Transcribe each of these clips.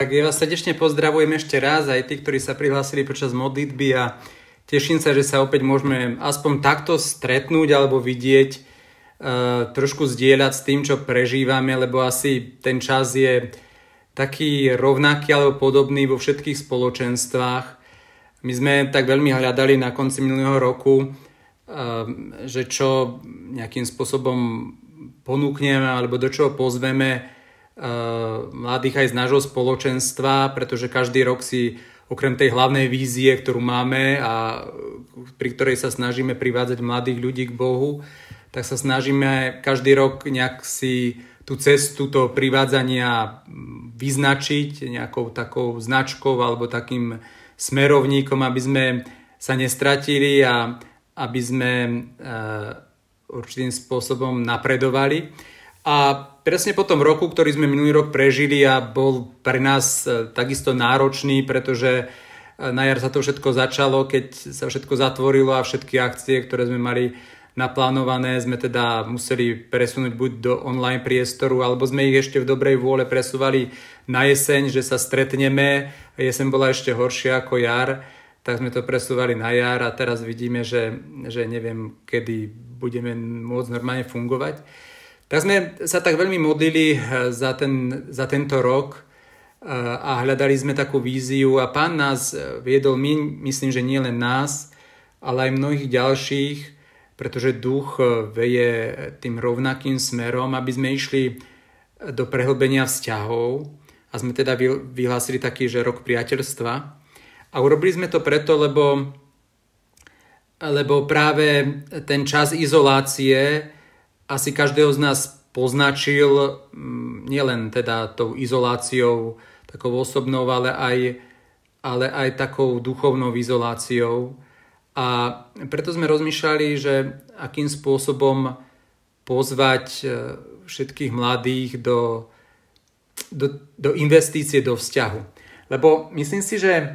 Tak ja vás srdečne pozdravujem ešte raz, aj tí, ktorí sa prihlásili počas modlitby, a teším sa, že sa opäť môžeme aspoň takto stretnúť alebo vidieť, trošku zdieľať s tým, čo prežívame, lebo asi ten čas je taký rovnaký alebo podobný vo všetkých spoločenstvách. My sme tak veľmi hľadali na konci minulého roku, že čo nejakým spôsobom ponúkneme alebo do čoho pozveme mladých aj z nášho spoločenstva, pretože každý rok si okrem tej hlavnej vízie, ktorú máme a pri ktorej sa snažíme privádzať mladých ľudí k Bohu, tak sa snažíme každý rok nejak si tú cestu toho privádzania vyznačiť nejakou takou značkou alebo takým smerovníkom, aby sme sa nestratili a aby sme určitým spôsobom napredovali. A presne po tom roku, ktorý sme minulý rok prežili a bol pre nás takisto náročný, pretože na jar sa to všetko začalo, keď sa všetko zatvorilo a všetky akcie, ktoré sme mali naplánované, sme teda museli presunúť buď do online priestoru, alebo sme ich ešte v dobrej vôle presúvali na jeseň, že sa stretneme. Jeseň bola ešte horšia ako jar, tak sme to presúvali na jar a teraz vidíme, že neviem, kedy budeme môcť normálne fungovať. Tak sme sa tak veľmi modlili za tento rok a hľadali sme takú víziu a Pán nás viedol, myslím, že nie len nás, ale aj mnohých ďalších, pretože duch veje tým rovnakým smerom, aby sme išli do prehlbenia vzťahov a sme teda vyhlásili taký, že rok priateľstva. A urobili sme to preto, lebo práve ten čas izolácie asi každého z nás poznačil nielen teda tou izoláciou takou osobnou, ale aj takou duchovnou izoláciou. A preto sme rozmýšľali, že akým spôsobom pozvať všetkých mladých do investície do vzťahu. Lebo myslím si, že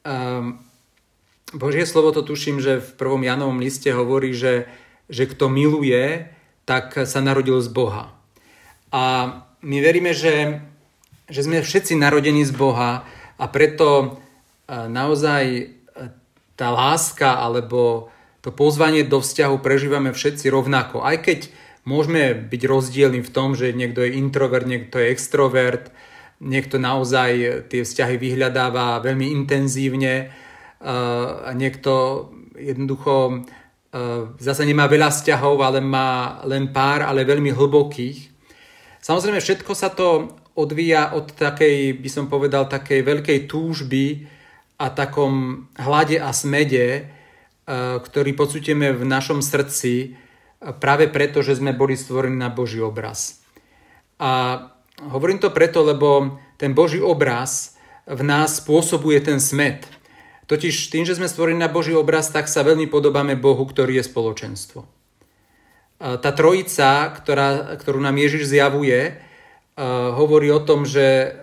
Božie slovo to tuším, že v 1. Jánovom liste hovorí, že kto miluje, tak sa narodil z Boha. A my veríme, že sme všetci narodení z Boha a preto naozaj tá láska alebo to pozvanie do vzťahu prežívame všetci rovnako. Aj keď môžeme byť rozdielni v tom, že niekto je introvert, niekto je extrovert, niekto naozaj tie vzťahy vyhľadáva veľmi intenzívne a niekto jednoducho zase nemá veľa vzťahov, ale má len pár, ale veľmi hlbokých. Samozrejme, všetko sa to odvíja od takej, by som povedal, takej veľkej túžby a takom hlade a smede, ktorý pocítime v našom srdci práve preto, že sme boli stvorení na Boží obraz. A hovorím to preto, lebo ten Boží obraz v nás spôsobuje ten smäd. Totiž tým, že sme stvorení na Boží obraz, tak sa veľmi podobáme Bohu, ktorý je spoločenstvo. Tá trojica, ktorú nám Ježiš zjavuje, hovorí o tom, že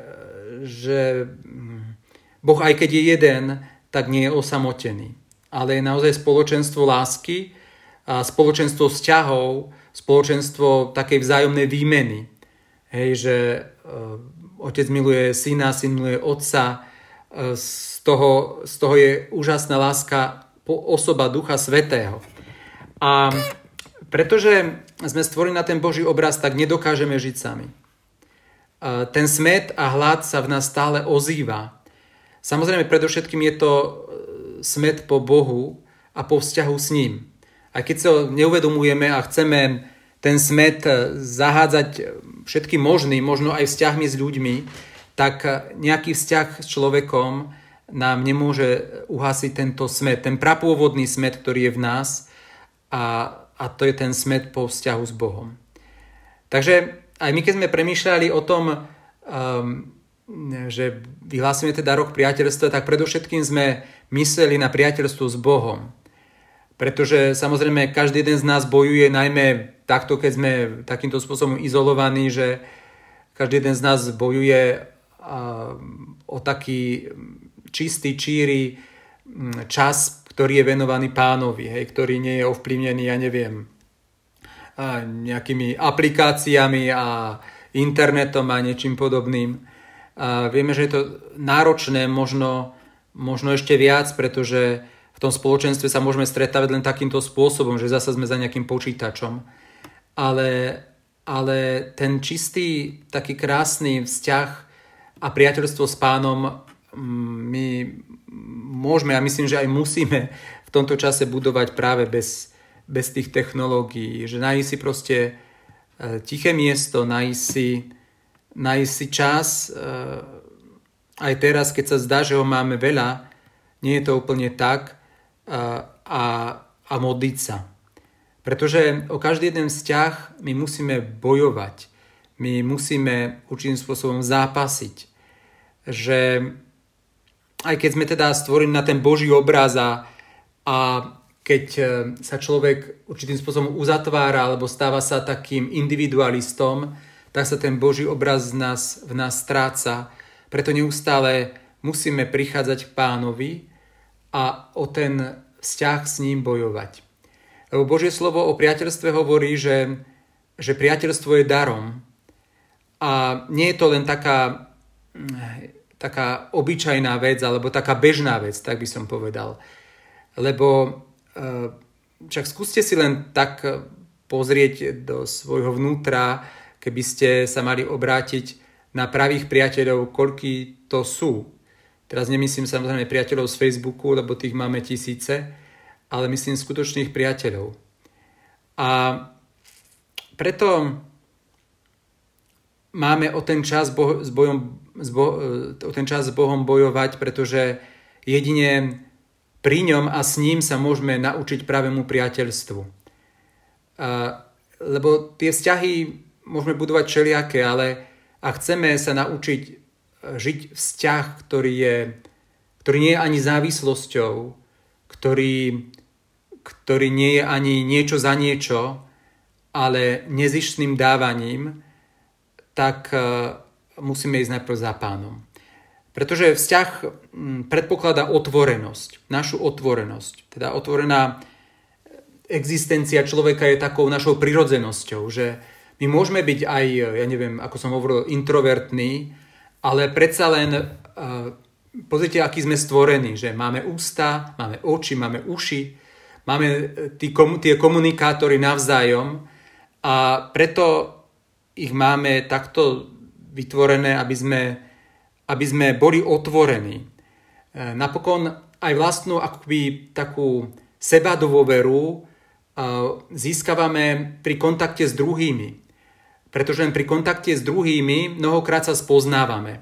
Boh, aj keď je jeden, tak nie je osamotený. Ale je naozaj spoločenstvo lásky, spoločenstvo vzťahov, spoločenstvo takej vzájomnej výmeny. Hej, že otec miluje syna, syn miluje otca, z toho je úžasná láska osoba Ducha Svätého. A pretože sme stvorení na ten Boží obraz, tak nedokážeme žiť sami. Ten smäd a hlad sa v nás stále ozýva. Samozrejme, predovšetkým je to smäd po Bohu a po vzťahu s ním. A keď sa neuvedomujeme a chceme ten smäd zahádzať všetkým možným, možno aj vzťahmi s ľuďmi, tak nejaký vzťah s človekom nám nemôže uhasiť tento smäd, ten prapôvodný smäd, ktorý je v nás a to je ten smäd po vzťahu s Bohom. Takže aj my, keď sme premýšľali o tom, že vyhlásime teda rok priateľstva, tak predovšetkým sme mysleli na priateľstvo s Bohom. Pretože samozrejme každý jeden z nás bojuje, najmä takto, keď sme takýmto spôsobom izolovaní, že každý jeden z nás bojuje o taký čistý, číry čas, ktorý je venovaný Pánovi, ktorý nie je ovplyvnený, ja neviem, nejakými aplikáciami a internetom a niečím podobným. Vieme, že je to náročné, možno ešte viac, pretože v tom spoločenstve sa môžeme stretávať len takýmto spôsobom, že zasa sme za nejakým počítačom. Ale ten čistý, taký krásny vzťah a priateľstvo s Pánom my môžeme a myslím, že aj musíme v tomto čase budovať práve bez tých technológií. Že nájsť si proste tiché miesto, nájsť si čas. Aj teraz, keď sa zdá, že ho máme veľa, nie je to úplne tak a modliť sa. Pretože o každý jeden vzťah my musíme bojovať. My musíme určitým spôsobom zápasiť. Že aj keď sme teda stvorení na ten Boží obraz a keď sa človek určitým spôsobom uzatvára alebo stáva sa takým individualistom, tak sa ten Boží obraz v nás stráca. Preto neustále musíme prichádzať k Pánovi a o ten vzťah s ním bojovať. Lebo Božie slovo o priateľstve hovorí, že priateľstvo je darom. A nie je to len taká obyčajná vec, alebo taká bežná vec, tak by som povedal. Lebo však skúste si len tak pozrieť do svojho vnútra, keby ste sa mali obrátiť na pravých priateľov, koľkí to sú. Teraz nemyslím samozrejme priateľov z Facebooku, lebo tých máme tisíce, ale myslím skutočných priateľov. A preto máme o ten čas s Bohom bojovať, pretože jedine pri ňom a s ním sa môžeme naučiť pravému priateľstvu. Lebo tie vzťahy môžeme budovať všelijaké, ale ak chceme sa naučiť žiť vzťah, ktorý nie je ani závislosťou, ktorý nie je ani niečo za niečo, ale nezištným dávaním, tak musíme ísť najprv za Pánom. Pretože vzťah predpokladá otvorenosť, našu otvorenosť. Teda otvorená existencia človeka je takou našou prirodzenosťou, že my môžeme byť aj, ja neviem, ako som hovoril, introvertní, ale predsa len pozrite, aký sme stvorení, že máme ústa, máme oči, máme uši, máme tie komunikátory navzájom a preto ich máme takto vytvorené, aby sme boli otvorení. Napokon aj vlastnú akoby takú sebadôveru získavame pri kontakte s druhými. Pretože len pri kontakte s druhými mnohokrát sa spoznávame.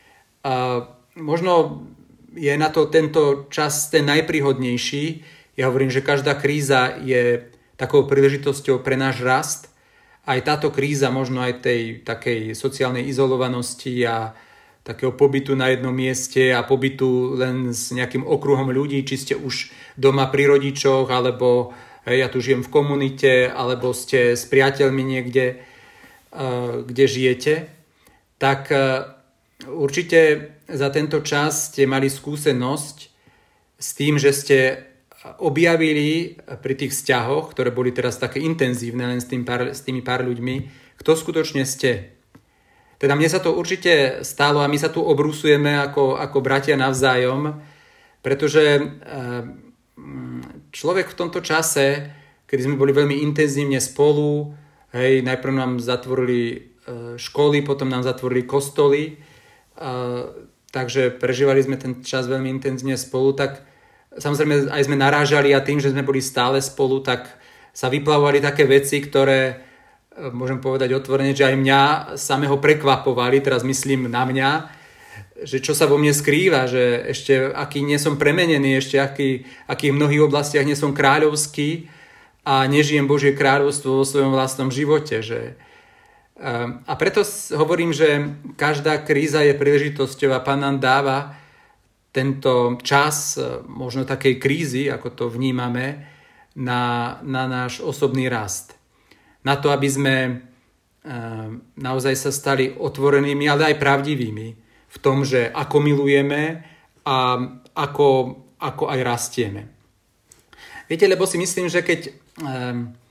Možno je na to tento čas ten najpríhodnejší. Ja hovorím, že každá kríza je takou príležitosťou pre náš rast. Aj táto kríza, možno aj tej takej sociálnej izolovanosti a takého pobytu na jednom mieste a pobytu len s nejakým okruhom ľudí, či ste už doma pri rodičoch, alebo ja tu žijem v komunite, alebo ste s priateľmi niekde, kde žijete, tak určite za tento čas ste mali skúsenosť s tým, že ste objavili pri tých vzťahoch, ktoré boli teraz také intenzívne len s tými pár ľuďmi, kto skutočne ste. Teda mne sa to určite stalo a my sa tu obrusujeme ako bratia navzájom, pretože človek v tomto čase, kedy sme boli veľmi intenzívne spolu, najprv nám zatvorili školy, potom nám zatvorili kostoly, takže prežívali sme ten čas veľmi intenzívne spolu, tak samozrejme aj sme narážali a tým, že sme boli stále spolu, tak sa vyplavovali také veci, ktoré môžem povedať otvorene, že aj mňa samého prekvapovali, teraz myslím na mňa, že čo sa vo mne skrýva, že ešte aký nie som premenený, ešte aký v mnohých oblastiach nie som kráľovský a nežijem Božie kráľovstvo vo svojom vlastnom živote. A preto hovorím, že každá kríza je príležitosťou a Pán nám dáva tento čas možno takej krízy, ako to vnímame, na náš osobný rast. Na to, aby sme naozaj sa stali otvorenými, ale aj pravdivými v tom, že ako milujeme a ako aj rastieme. Viete, lebo si myslím, že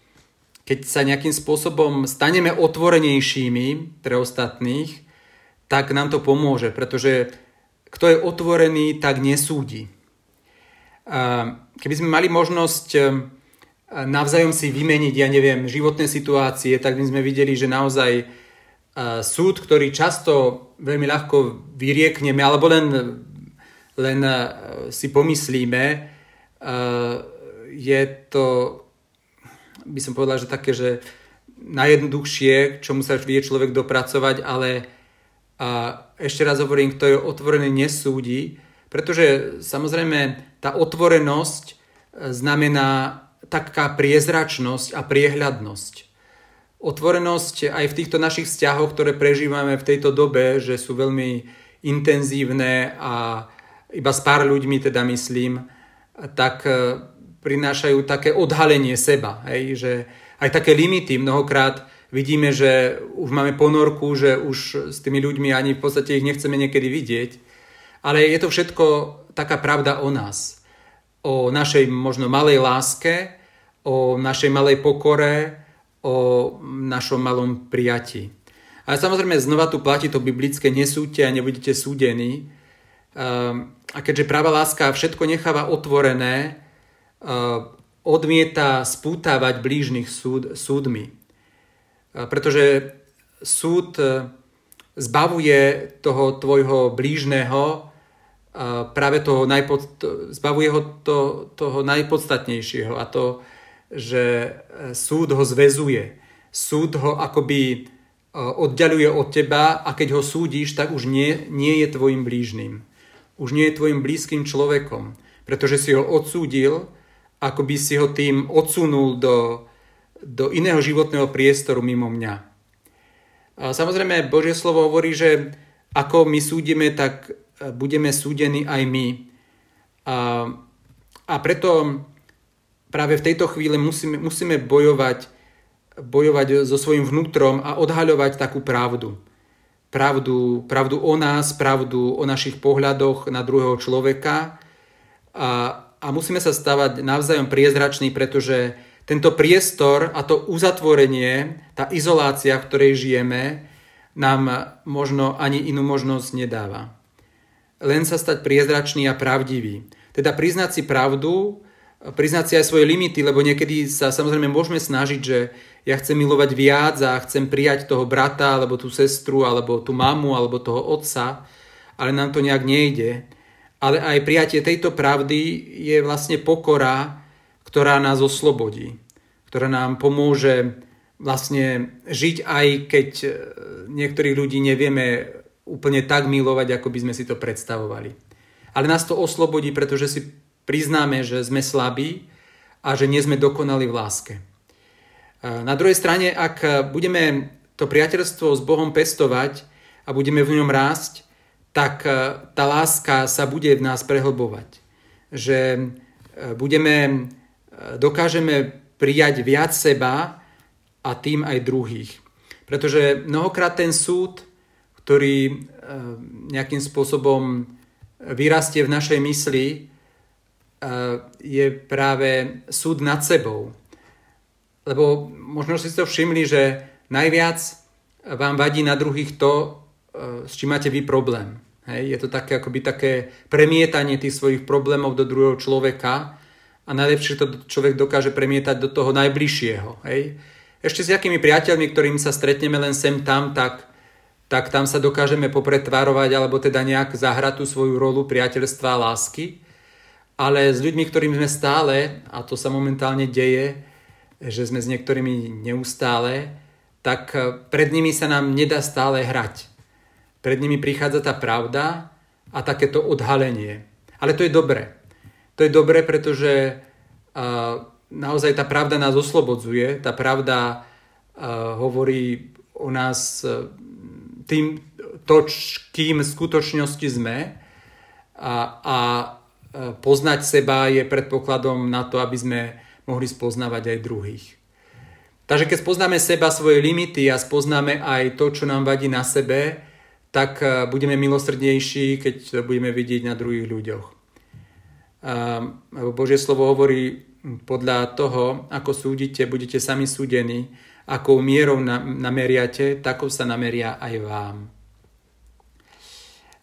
keď sa nejakým spôsobom staneme otvorenejšími pre ostatných, tak nám to pomôže, pretože kto je otvorený, tak nesúdi. Keby sme mali možnosť navzájom si vymeniť, životné situácie, tak by sme videli, že naozaj súd, ktorý často veľmi ľahko vyriekneme, alebo len si pomyslíme, je to, by som povedal, že také, že najjednoduchšie, čomu sa vie človek dopracovať, ale ešte raz hovorím, kto je otvorený, nesúdi, pretože samozrejme tá otvorenosť znamená taká priezračnosť a priehľadnosť. Otvorenosť aj v týchto našich vzťahoch, ktoré prežívame v tejto dobe, že sú veľmi intenzívne a iba s pár ľuďmi, teda myslím, tak prinášajú také odhalenie seba. Hej? Že aj také limity. Mnohokrát vidíme, že už máme ponorku, že už s tými ľuďmi ani v podstate ich nechceme niekedy vidieť. Ale je to všetko taká pravda o nás. O našej možno malej láske, o našej malej pokore, o našom malom prijatí. Ale samozrejme znova tu platí to biblické: nesúďte a nebudete súdení. A keďže práva láska všetko necháva otvorené, odmieta spútavať blížnych súdmi. Pretože súd zbavuje toho tvojho blížneho práve zbavuje ho toho najpodstatnejšieho, a to, že súd ho zväzuje. Súd ho akoby oddaľuje od teba, a keď ho súdiš, tak už nie je tvojim blížnym. Už nie je tvojim blízkym človekom, pretože si ho odsúdil, ako by si ho tým odsunul do iného životného priestoru mimo mňa. A samozrejme, Božie slovo hovorí, že ako my súdime, tak budeme súdení aj my. A preto práve v tejto chvíli musíme bojovať so svojím vnútrom a odhaľovať takú pravdu. Pravdu o nás, pravdu o našich pohľadoch na druhého človeka. A musíme sa stávať navzájom priezrační, pretože tento priestor a to uzatvorenie, tá izolácia, v ktorej žijeme, nám možno ani inú možnosť nedáva. Len sa stať priezračný a pravdivý. Teda priznať si pravdu, priznať si aj svoje limity, lebo niekedy sa samozrejme môžeme snažiť, že ja chcem milovať viac a chcem prijať toho brata, alebo tú sestru, alebo tú mamu, alebo toho otca, ale nám to nejak nejde. Ale aj prijatie tejto pravdy je vlastne pokora, ktorá nás oslobodí, ktorá nám pomôže vlastne žiť, aj keď niektorých ľudí nevieme úplne tak milovať, ako by sme si to predstavovali. Ale nás to oslobodí, pretože si priznáme, že sme slabí a že nie sme dokonali v láske. Na druhej strane, ak budeme to priateľstvo s Bohom pestovať a budeme v ňom rásť, tak tá láska sa bude v nás prehlbovať. Že dokážeme prijať viac seba a tým aj druhých. Pretože mnohokrát ten súd, ktorý nejakým spôsobom vyrastie v našej mysli, je práve súd nad sebou. Lebo možno si to všimli, že najviac vám vadí na druhých to, s čím máte vy problém. Hej? Je to také premietanie tých svojich problémov do druhého človeka, a najlepšie to človek dokáže premietať do toho najbližšieho. Hej? Ešte s jakými priateľmi, ktorým sa stretneme len sem tam, tak tam sa dokážeme popretvárovať, alebo teda nejak zahrať tú svoju rolu priateľstva a lásky. Ale s ľuďmi, ktorým sme stále, a to sa momentálne deje, že sme s niektorými neustále, tak pred nimi sa nám nedá stále hrať. Pred nimi prichádza tá pravda a takéto odhalenie. Ale to je dobré. To je dobré, pretože naozaj tá pravda nás oslobodzuje. Tá pravda hovorí o nás kým v skutočnosti sme. A poznať seba je predpokladom na to, aby sme mohli spoznávať aj druhých. Takže keď spoznáme seba, svoje limity a spoznáme aj to, čo nám vadí na sebe, tak budeme milosrdnejší, keď to budeme vidieť na druhých ľuďoch. Božie slovo hovorí, podľa toho, ako súdite, budete sami súdení, akou mierou nameriate, takou sa nameria aj vám.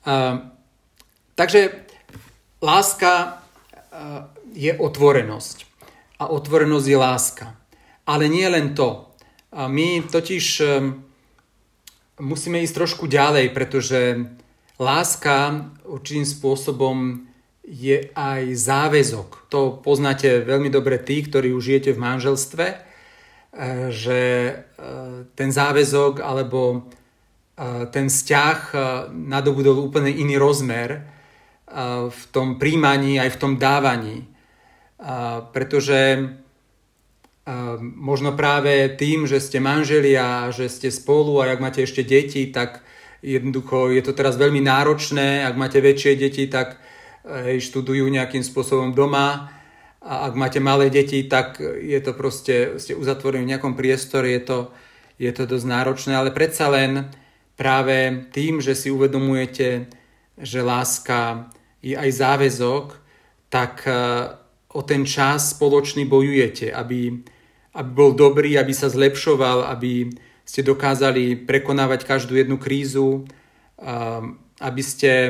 Takže láska je otvorenosť. A otvorenosť je láska. Ale nie len to. My totiž musíme ísť trošku ďalej, pretože láska určitým spôsobom je aj záväzok. To poznáte veľmi dobre tí, ktorí už žijete v manželstve, že ten záväzok alebo ten vzťah nadobudol úplne iný rozmer v tom príjmaní aj v tom dávaní. Pretože možno práve tým, že ste manželia, že ste spolu a ak máte ešte deti, tak jednoducho je to teraz veľmi náročné. Ak máte väčšie deti, tak študujú nejakým spôsobom doma. A ak máte malé deti, tak je to proste, ste uzatvorení v nejakom priestore, je to dosť náročné. Ale predsa len práve tým, že si uvedomujete, že láska je aj záväzok, tak o ten čas spoločný bojujete, aby bol dobrý, aby sa zlepšoval, aby ste dokázali prekonávať každú jednu krízu, aby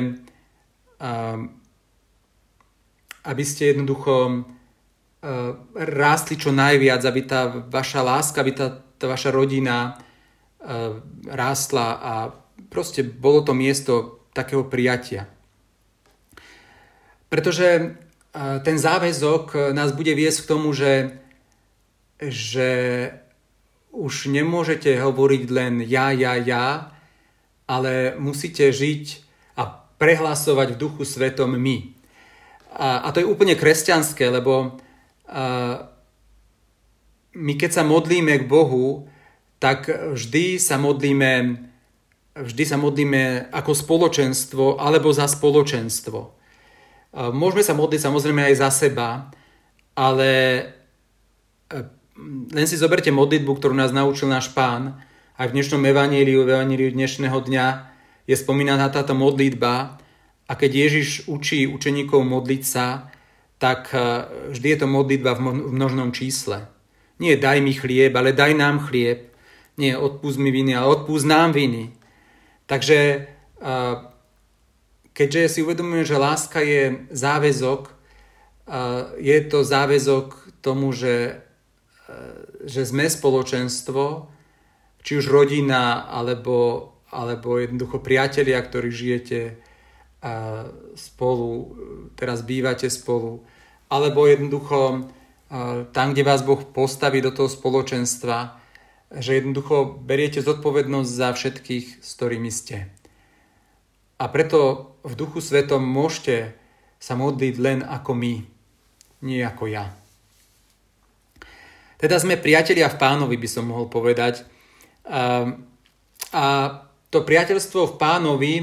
ste jednoducho rástli čo najviac, aby tá vaša láska, aby tá vaša rodina rástla a proste bolo to miesto takého prijatia. Pretože ten záväzok nás bude viesť k tomu, že už nemôžete hovoriť len ja, ale musíte žiť a prehlasovať v Duchu Svetom my. A to je úplne kresťanské, lebo my keď sa modlíme k Bohu, tak vždy sa modlíme ako spoločenstvo alebo za spoločenstvo. Môžeme sa modliť samozrejme aj za seba, ale len si zoberte modlitbu, ktorú nás naučil náš Pán. Aj v dnešnom evaníliu dnešného dňa je spomínaná táto modlitba a keď Ježiš učí učeníkov modliť sa, tak vždy je to modlitba v množnom čísle. Nie daj mi chlieb, ale daj nám chlieb. Nie odpúsť mi viny, ale odpúsť nám viny. Takže keďže si uvedomujem, že láska je záväzok, je to záväzok tomu, že sme spoločenstvo, či už rodina, alebo jednoducho priatelia, ktorí žijete spolu, teraz bývate spolu, alebo jednoducho tam, kde vás Boh postaví do toho spoločenstva, že jednoducho beriete zodpovednosť za všetkých, s ktorými ste. A preto v Duchu Svetom môžete sa modliť len ako my, nie ako ja. Teda sme priatelia v Pánovi, by som mohol povedať. A to priateľstvo v Pánovi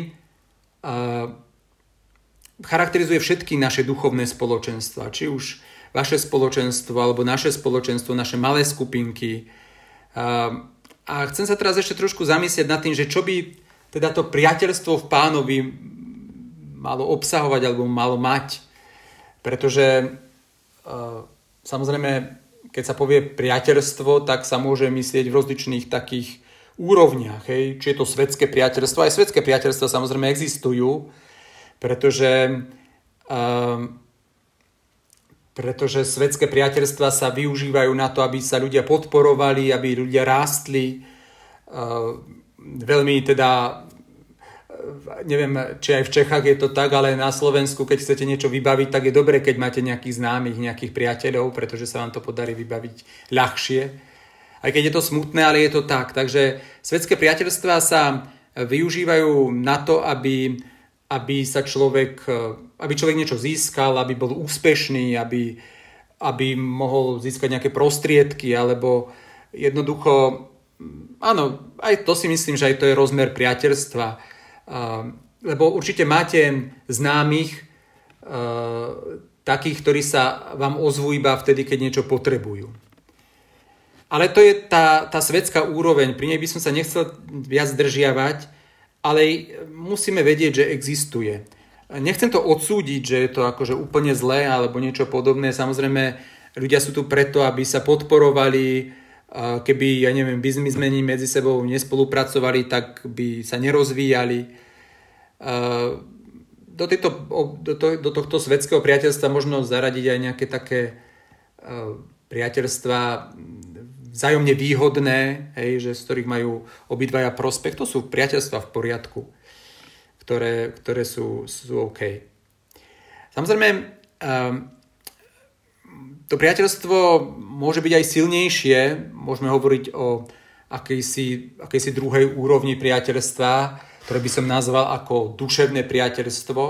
charakterizuje všetky naše duchovné spoločenstva. Či už vaše spoločenstvo, alebo naše spoločenstvo, naše malé skupinky. A chcem sa teraz ešte trošku zamyslieť nad tým, že čo by teda to priateľstvo v Pánovi malo obsahovať alebo malo mať. Pretože samozrejme, keď sa povie priateľstvo, tak sa môže myslieť v rozličných takých úrovniach. Hej? Či je to svetské priateľstvo. Aj svetské priateľstva samozrejme existujú, pretože svetské priateľstva sa využívajú na to, aby sa ľudia podporovali, aby ľudia rástli. Veľmi teda, neviem, či aj v Čechách je to tak, ale na Slovensku, keď chcete niečo vybaviť, tak je dobre, keď máte nejakých známych, nejakých priateľov, pretože sa vám to podarí vybaviť ľahšie. Aj keď je to smutné, ale je to tak. Takže svetské priateľstvá sa využívajú na to, aby človek niečo získal, aby bol úspešný, aby mohol získať nejaké prostriedky, alebo jednoducho, áno, aj to si myslím, že aj to je rozmer priateľstva. Lebo určite máte známych takých, ktorí sa vám ozvú iba vtedy, keď niečo potrebujú. Ale to je tá svetská úroveň, pri nej by som sa nechcel viac zdržiavať, ale musíme vedieť, že existuje. Nechcem to odsúdiť, že je to akože úplne zlé alebo niečo podobné. Samozrejme, ľudia sú tu preto, aby sa podporovali. Keby, biznismeni medzi sebou nespolupracovali, tak by sa nerozvíjali. Do tohto svetského priateľstva možno zaradiť aj nejaké také priateľstva vzájomne výhodné, hej, že z ktorých majú obidvaja prospech. To sú priateľstva v poriadku, ktoré sú OK. Samozrejme, to priateľstvo môže byť aj silnejšie. Môžeme hovoriť o akejsi druhej úrovni priateľstva, ktoré by som nazval ako duševné priateľstvo.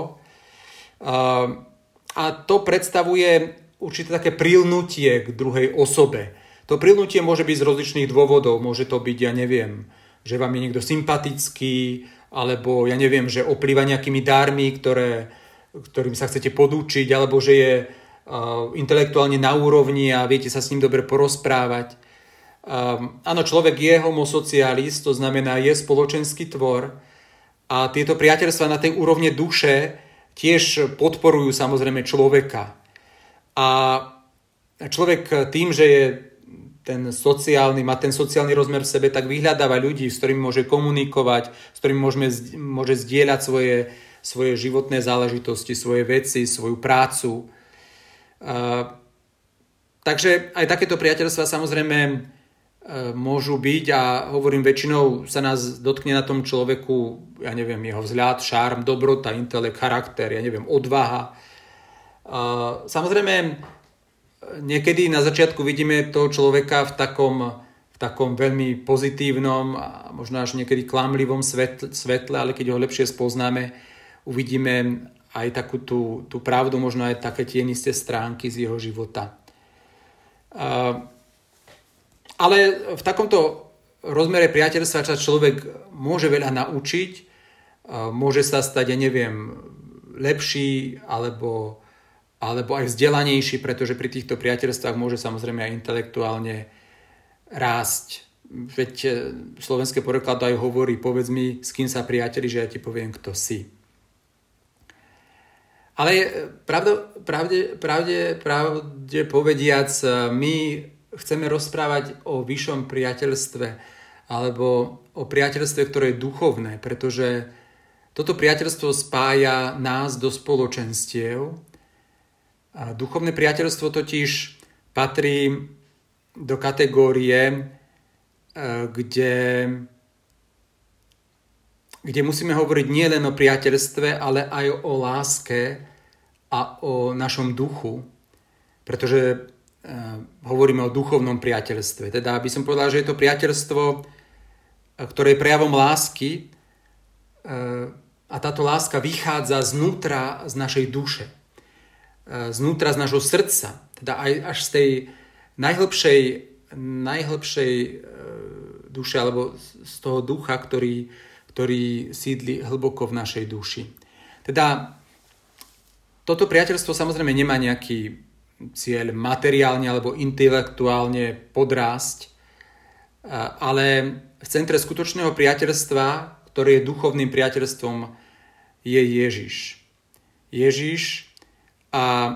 A to predstavuje určité také prilnutie k druhej osobe. To prilnutie môže byť z rozličných dôvodov. Môže to byť, ja neviem, že vám je niekto sympatický, alebo ja neviem, že oplýva nejakými dármi, ktorým sa chcete podúčiť, alebo že je intelektuálne na úrovni a viete sa s ním dobre porozprávať. Áno, človek je homo socialis, to znamená je spoločenský tvor a tieto priateľstvá na tej úrovne duše tiež podporujú samozrejme človeka. A človek tým, že je má ten sociálny rozmer v sebe, tak vyhľadáva ľudí, s ktorými môže komunikovať, s ktorými môže zdieľať svoje životné záležitosti, svoje veci, svoju prácu. Takže aj takéto priateľstvá samozrejme môžu byť a hovorím, väčšinou sa nás dotkne na tom človeku, ja neviem, jeho vzhľad, šarm, dobrota, intelekt, charakter, ja neviem, odvaha. Samozrejme, niekedy na začiatku vidíme toho človeka v takom veľmi pozitívnom a možno až niekedy klamlivom svetle, ale keď ho lepšie spoznáme, uvidíme aj takú tú pravdu, možno aj také tienisté stránky z jeho života. Ale v takomto rozmere priateľstva sa človek môže veľa naučiť, môže sa stať, ja neviem, lepší alebo aj vzdelanejší, pretože pri týchto priateľstvách môže samozrejme aj intelektuálne rásť. Veď slovenské porekladá aj hovorí, povedz mi, s kým sa priateli, že ja ti poviem, kto si. Ale pravde povediac, my chceme rozprávať o vyššom priateľstve alebo o priateľstve, ktoré je duchovné, pretože toto priateľstvo spája nás do spoločenstiev. A duchovné priateľstvo totiž patrí do kategórie, kde musíme hovoriť nielen o priateľstve, ale aj o láske a o našom duchu, pretože hovoríme o duchovnom priateľstve. Teda by som povedal, že je to priateľstvo, ktoré je prejavom lásky a táto láska vychádza znútra z našej duše, znútra z nášho srdca, teda aj až z tej najhlbšej duše alebo z toho ducha, ktorý sídli hlboko v našej duši. Teda toto priateľstvo samozrejme nemá nejaký cieľ materiálne alebo intelektuálne podrásť, ale v centre skutočného priateľstva, ktoré je duchovným priateľstvom, je Ježiš. Ježiš a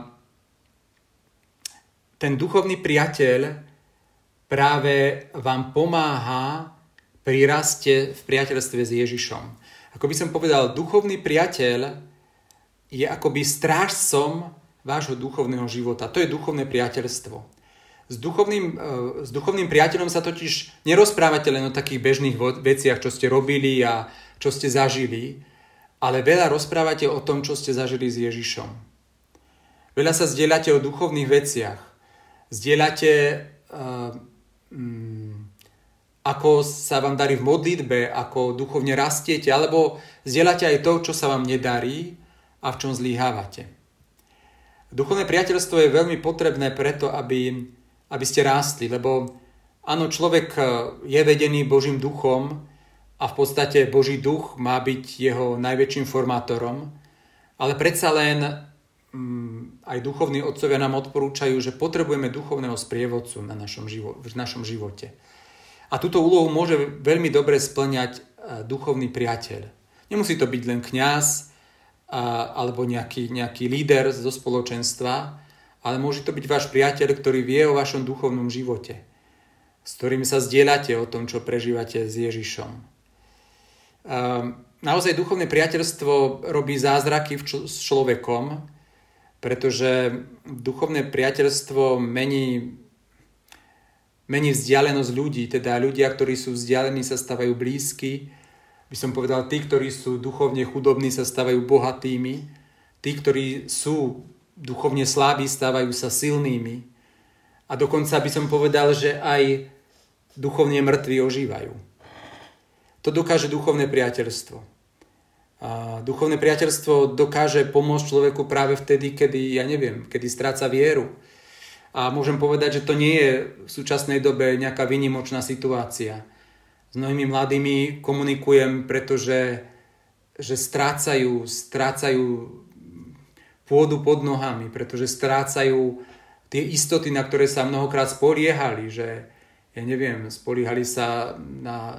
ten duchovný priateľ práve vám pomáha pri raste v priateľstve s Ježišom. Ako by som povedal, duchovný priateľ je akoby strážcom vášho duchovného života. To je duchovné priateľstvo. S duchovným priateľom sa totiž nerozprávate len o takých bežných veciach, čo ste robili a čo ste zažili, ale veľa rozprávate o tom, čo ste zažili s Ježišom. Veľa sa zdieľate o duchovných veciach. Zdieľate ako sa vám darí v modlitbe, ako duchovne rastiete, alebo zdieľate aj to, čo sa vám nedarí a v čom zlyhávate. Duchovné priateľstvo je veľmi potrebné preto, aby ste rástli, lebo áno, človek je vedený Božím duchom a v podstate Boží duch má byť jeho najväčším formátorom, ale predsa len aj duchovní otcovia nám odporúčajú, že potrebujeme duchovného sprievodcu v našom živote. A túto úlohu môže veľmi dobre spĺňať duchovný priateľ. Nemusí to byť len kňaz alebo nejaký líder zo spoločenstva, ale môže to byť váš priateľ, ktorý vie o vašom duchovnom živote, s ktorým sa zdieľate o tom, čo prežívate s Ježišom. naozaj duchovné priateľstvo robí zázraky s človekom, pretože duchovné priateľstvo mení vzdialenosť ľudí, teda ľudia, ktorí sú vzdialení, sa stávajú blízky. By som povedal, tí, ktorí sú duchovne chudobní, sa stávajú bohatými. Tí, ktorí sú duchovne slabí, stávajú sa silnými. A dokonca by som povedal, že aj duchovne mŕtvi ožívajú. To dokáže duchovné priateľstvo. A duchovné priateľstvo dokáže pomôcť človeku práve vtedy, kedy stráca vieru. A môžem povedať, že to nie je v súčasnej dobe nejaká výnimočná situácia. S mnohými mladými komunikujem, pretože strácajú pôdu pod nohami, pretože strácajú tie istoty, na ktoré sa mnohokrát spoliehali, že spoliehali sa na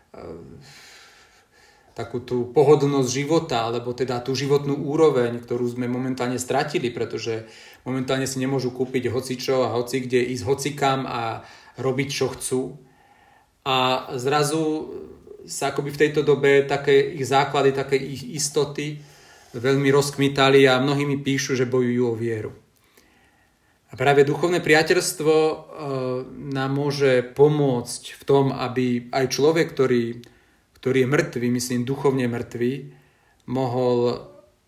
takú tú pohodlnosť života, alebo teda tú životnú úroveň, ktorú sme momentálne stratili, pretože momentálne si nemôžu kúpiť hocičo a hoci kde ísť hocikam a robiť, čo chcú. A zrazu sa akoby v tejto dobe také ich základy, také ich istoty veľmi rozkmitali a mnohí mi píšu, že bojujú o vieru. A práve duchovné priateľstvo nám môže pomôcť v tom, aby aj človek, ktorý je mŕtvý, myslím duchovne mŕtvý, mohol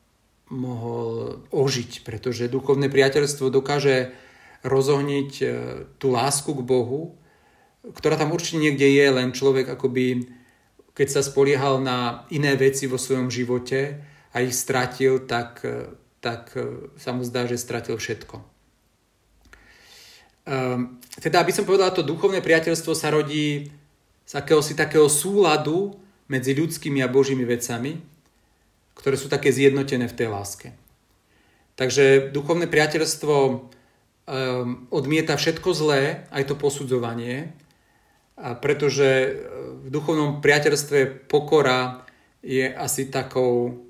ožiť, pretože duchovné priateľstvo dokáže rozohniť tú lásku k Bohu, ktorá tam určite niekde je, len človek akoby, keď sa spoliehal na iné veci vo svojom živote a ich stratil, tak sa mu zdá, že stratil všetko. Teda, aby som povedal, to duchovné priateľstvo sa rodí z akéhosi takého súladu medzi ľudskými a Božími vecami, ktoré sú také zjednotené v tej láske. Takže duchovné priateľstvo odmieta všetko zlé, aj to posudzovanie, pretože v duchovnom priateľstve pokora je asi takou...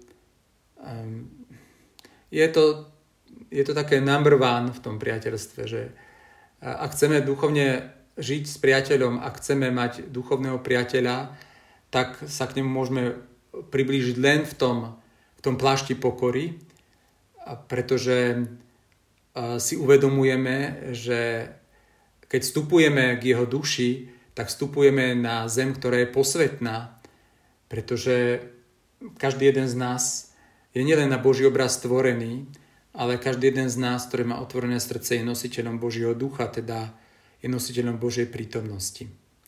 Je to také number one v tom priateľstve, že ak chceme duchovne žiť s priateľom, ak chceme mať duchovného priateľa, tak sa k nemu môžeme priblížiť len v tom plášti pokory, pretože si uvedomujeme, že keď vstupujeme k jeho duši, tak vstupujeme na zem, ktorá je posvätná, pretože každý jeden z nás je nielen na Boží obraz stvorený, ale každý jeden z nás, ktorý má otvorené srdce, je nositeľom Božieho ducha, teda je nositeľom Božej prítomnosti.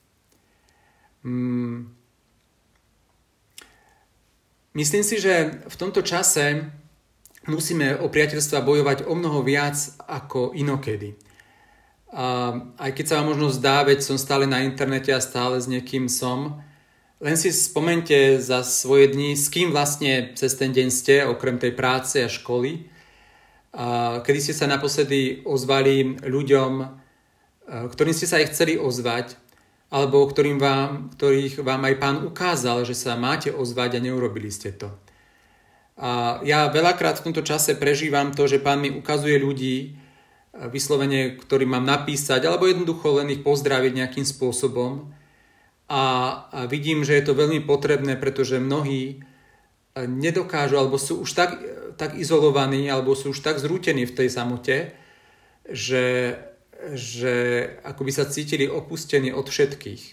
Myslím si, že v tomto čase musíme o priateľstva bojovať o mnoho viac ako inokedy. Aj keď sa vám možno zdá, veď som stále na internete a stále s niekým som, len si spomente za svoje dni, s kým vlastne cez ten deň ste, okrem tej práce a školy, kedy ste sa naposledy ozvali ľuďom, ktorým ste sa aj chceli ozvať, alebo ktorých vám aj Pán ukázal, že sa máte ozvať a neurobili ste to. A ja veľakrát v tomto čase prežívam to, že Pán mi ukazuje ľudí, vyslovene, ktorým mám napísať, alebo jednoducho len ich pozdraviť nejakým spôsobom. A vidím, že je to veľmi potrebné, pretože mnohí nedokážu, alebo sú už tak izolovaní, alebo sú už tak zrútení v tej samote, že akoby sa cítili opustení od všetkých.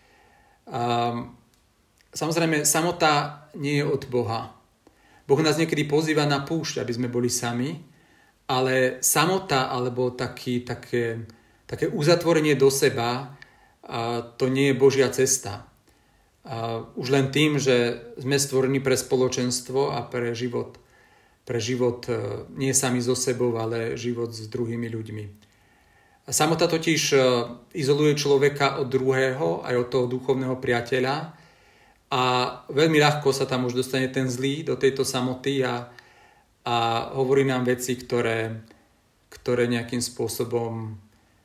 Samozrejme, samota nie je od Boha. Boh nás niekedy pozýva na púšť, aby sme boli sami, ale samota alebo také uzatvorenie do seba, to nie je Božia cesta. Už len tým, že sme stvorení pre spoločenstvo a pre život nie sami so sebou, ale život s druhými ľuďmi. Samota totiž izoluje človeka od druhého, aj od toho duchovného priateľa a veľmi ľahko sa tam už dostane ten zlý do tejto samoty a hovorí nám veci, ktoré nejakým spôsobom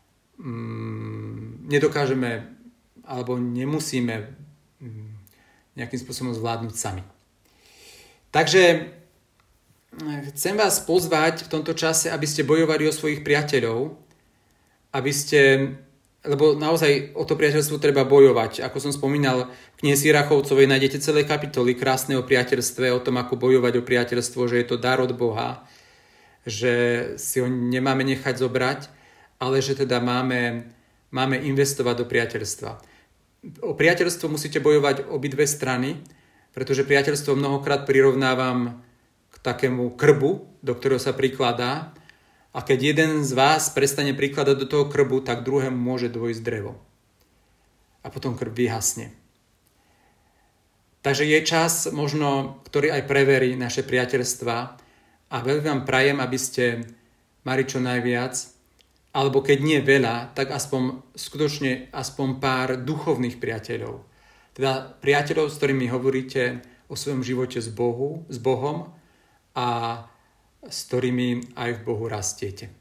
nedokážeme alebo nemusíme nejakým spôsobom zvládnuť sami. Takže chcem vás pozvať v tomto čase, aby ste bojovali o svojich priateľov, aby ste lebo naozaj o to priateľstvo treba bojovať. Ako som spomínal, v knihe Sirachovcovej nájdete celé kapitoly krásne o priateľstve, o tom, ako bojovať o priateľstvo, že je to dar od Boha, že si ho nemáme nechať zobrať, ale že teda máme investovať do priateľstva. O priateľstvo musíte bojovať obidve strany, pretože priateľstvo mnohokrát prirovnávam k takému krbu, do ktorého sa prikladá, a keď jeden z vás prestane prikladať do toho krbu, tak druhému môže dôjsť drevo. A potom krb vyhasne. Takže je čas možno, ktorý aj preverí naše priateľstva, a veľmi vám prajem, aby ste mali čo najviac, alebo keď nie veľa, tak skutočne aspoň pár duchovných priateľov. Teda priateľov, s ktorými hovoríte o svojom živote s Bohom a s ktorými aj v Bohu rastiete.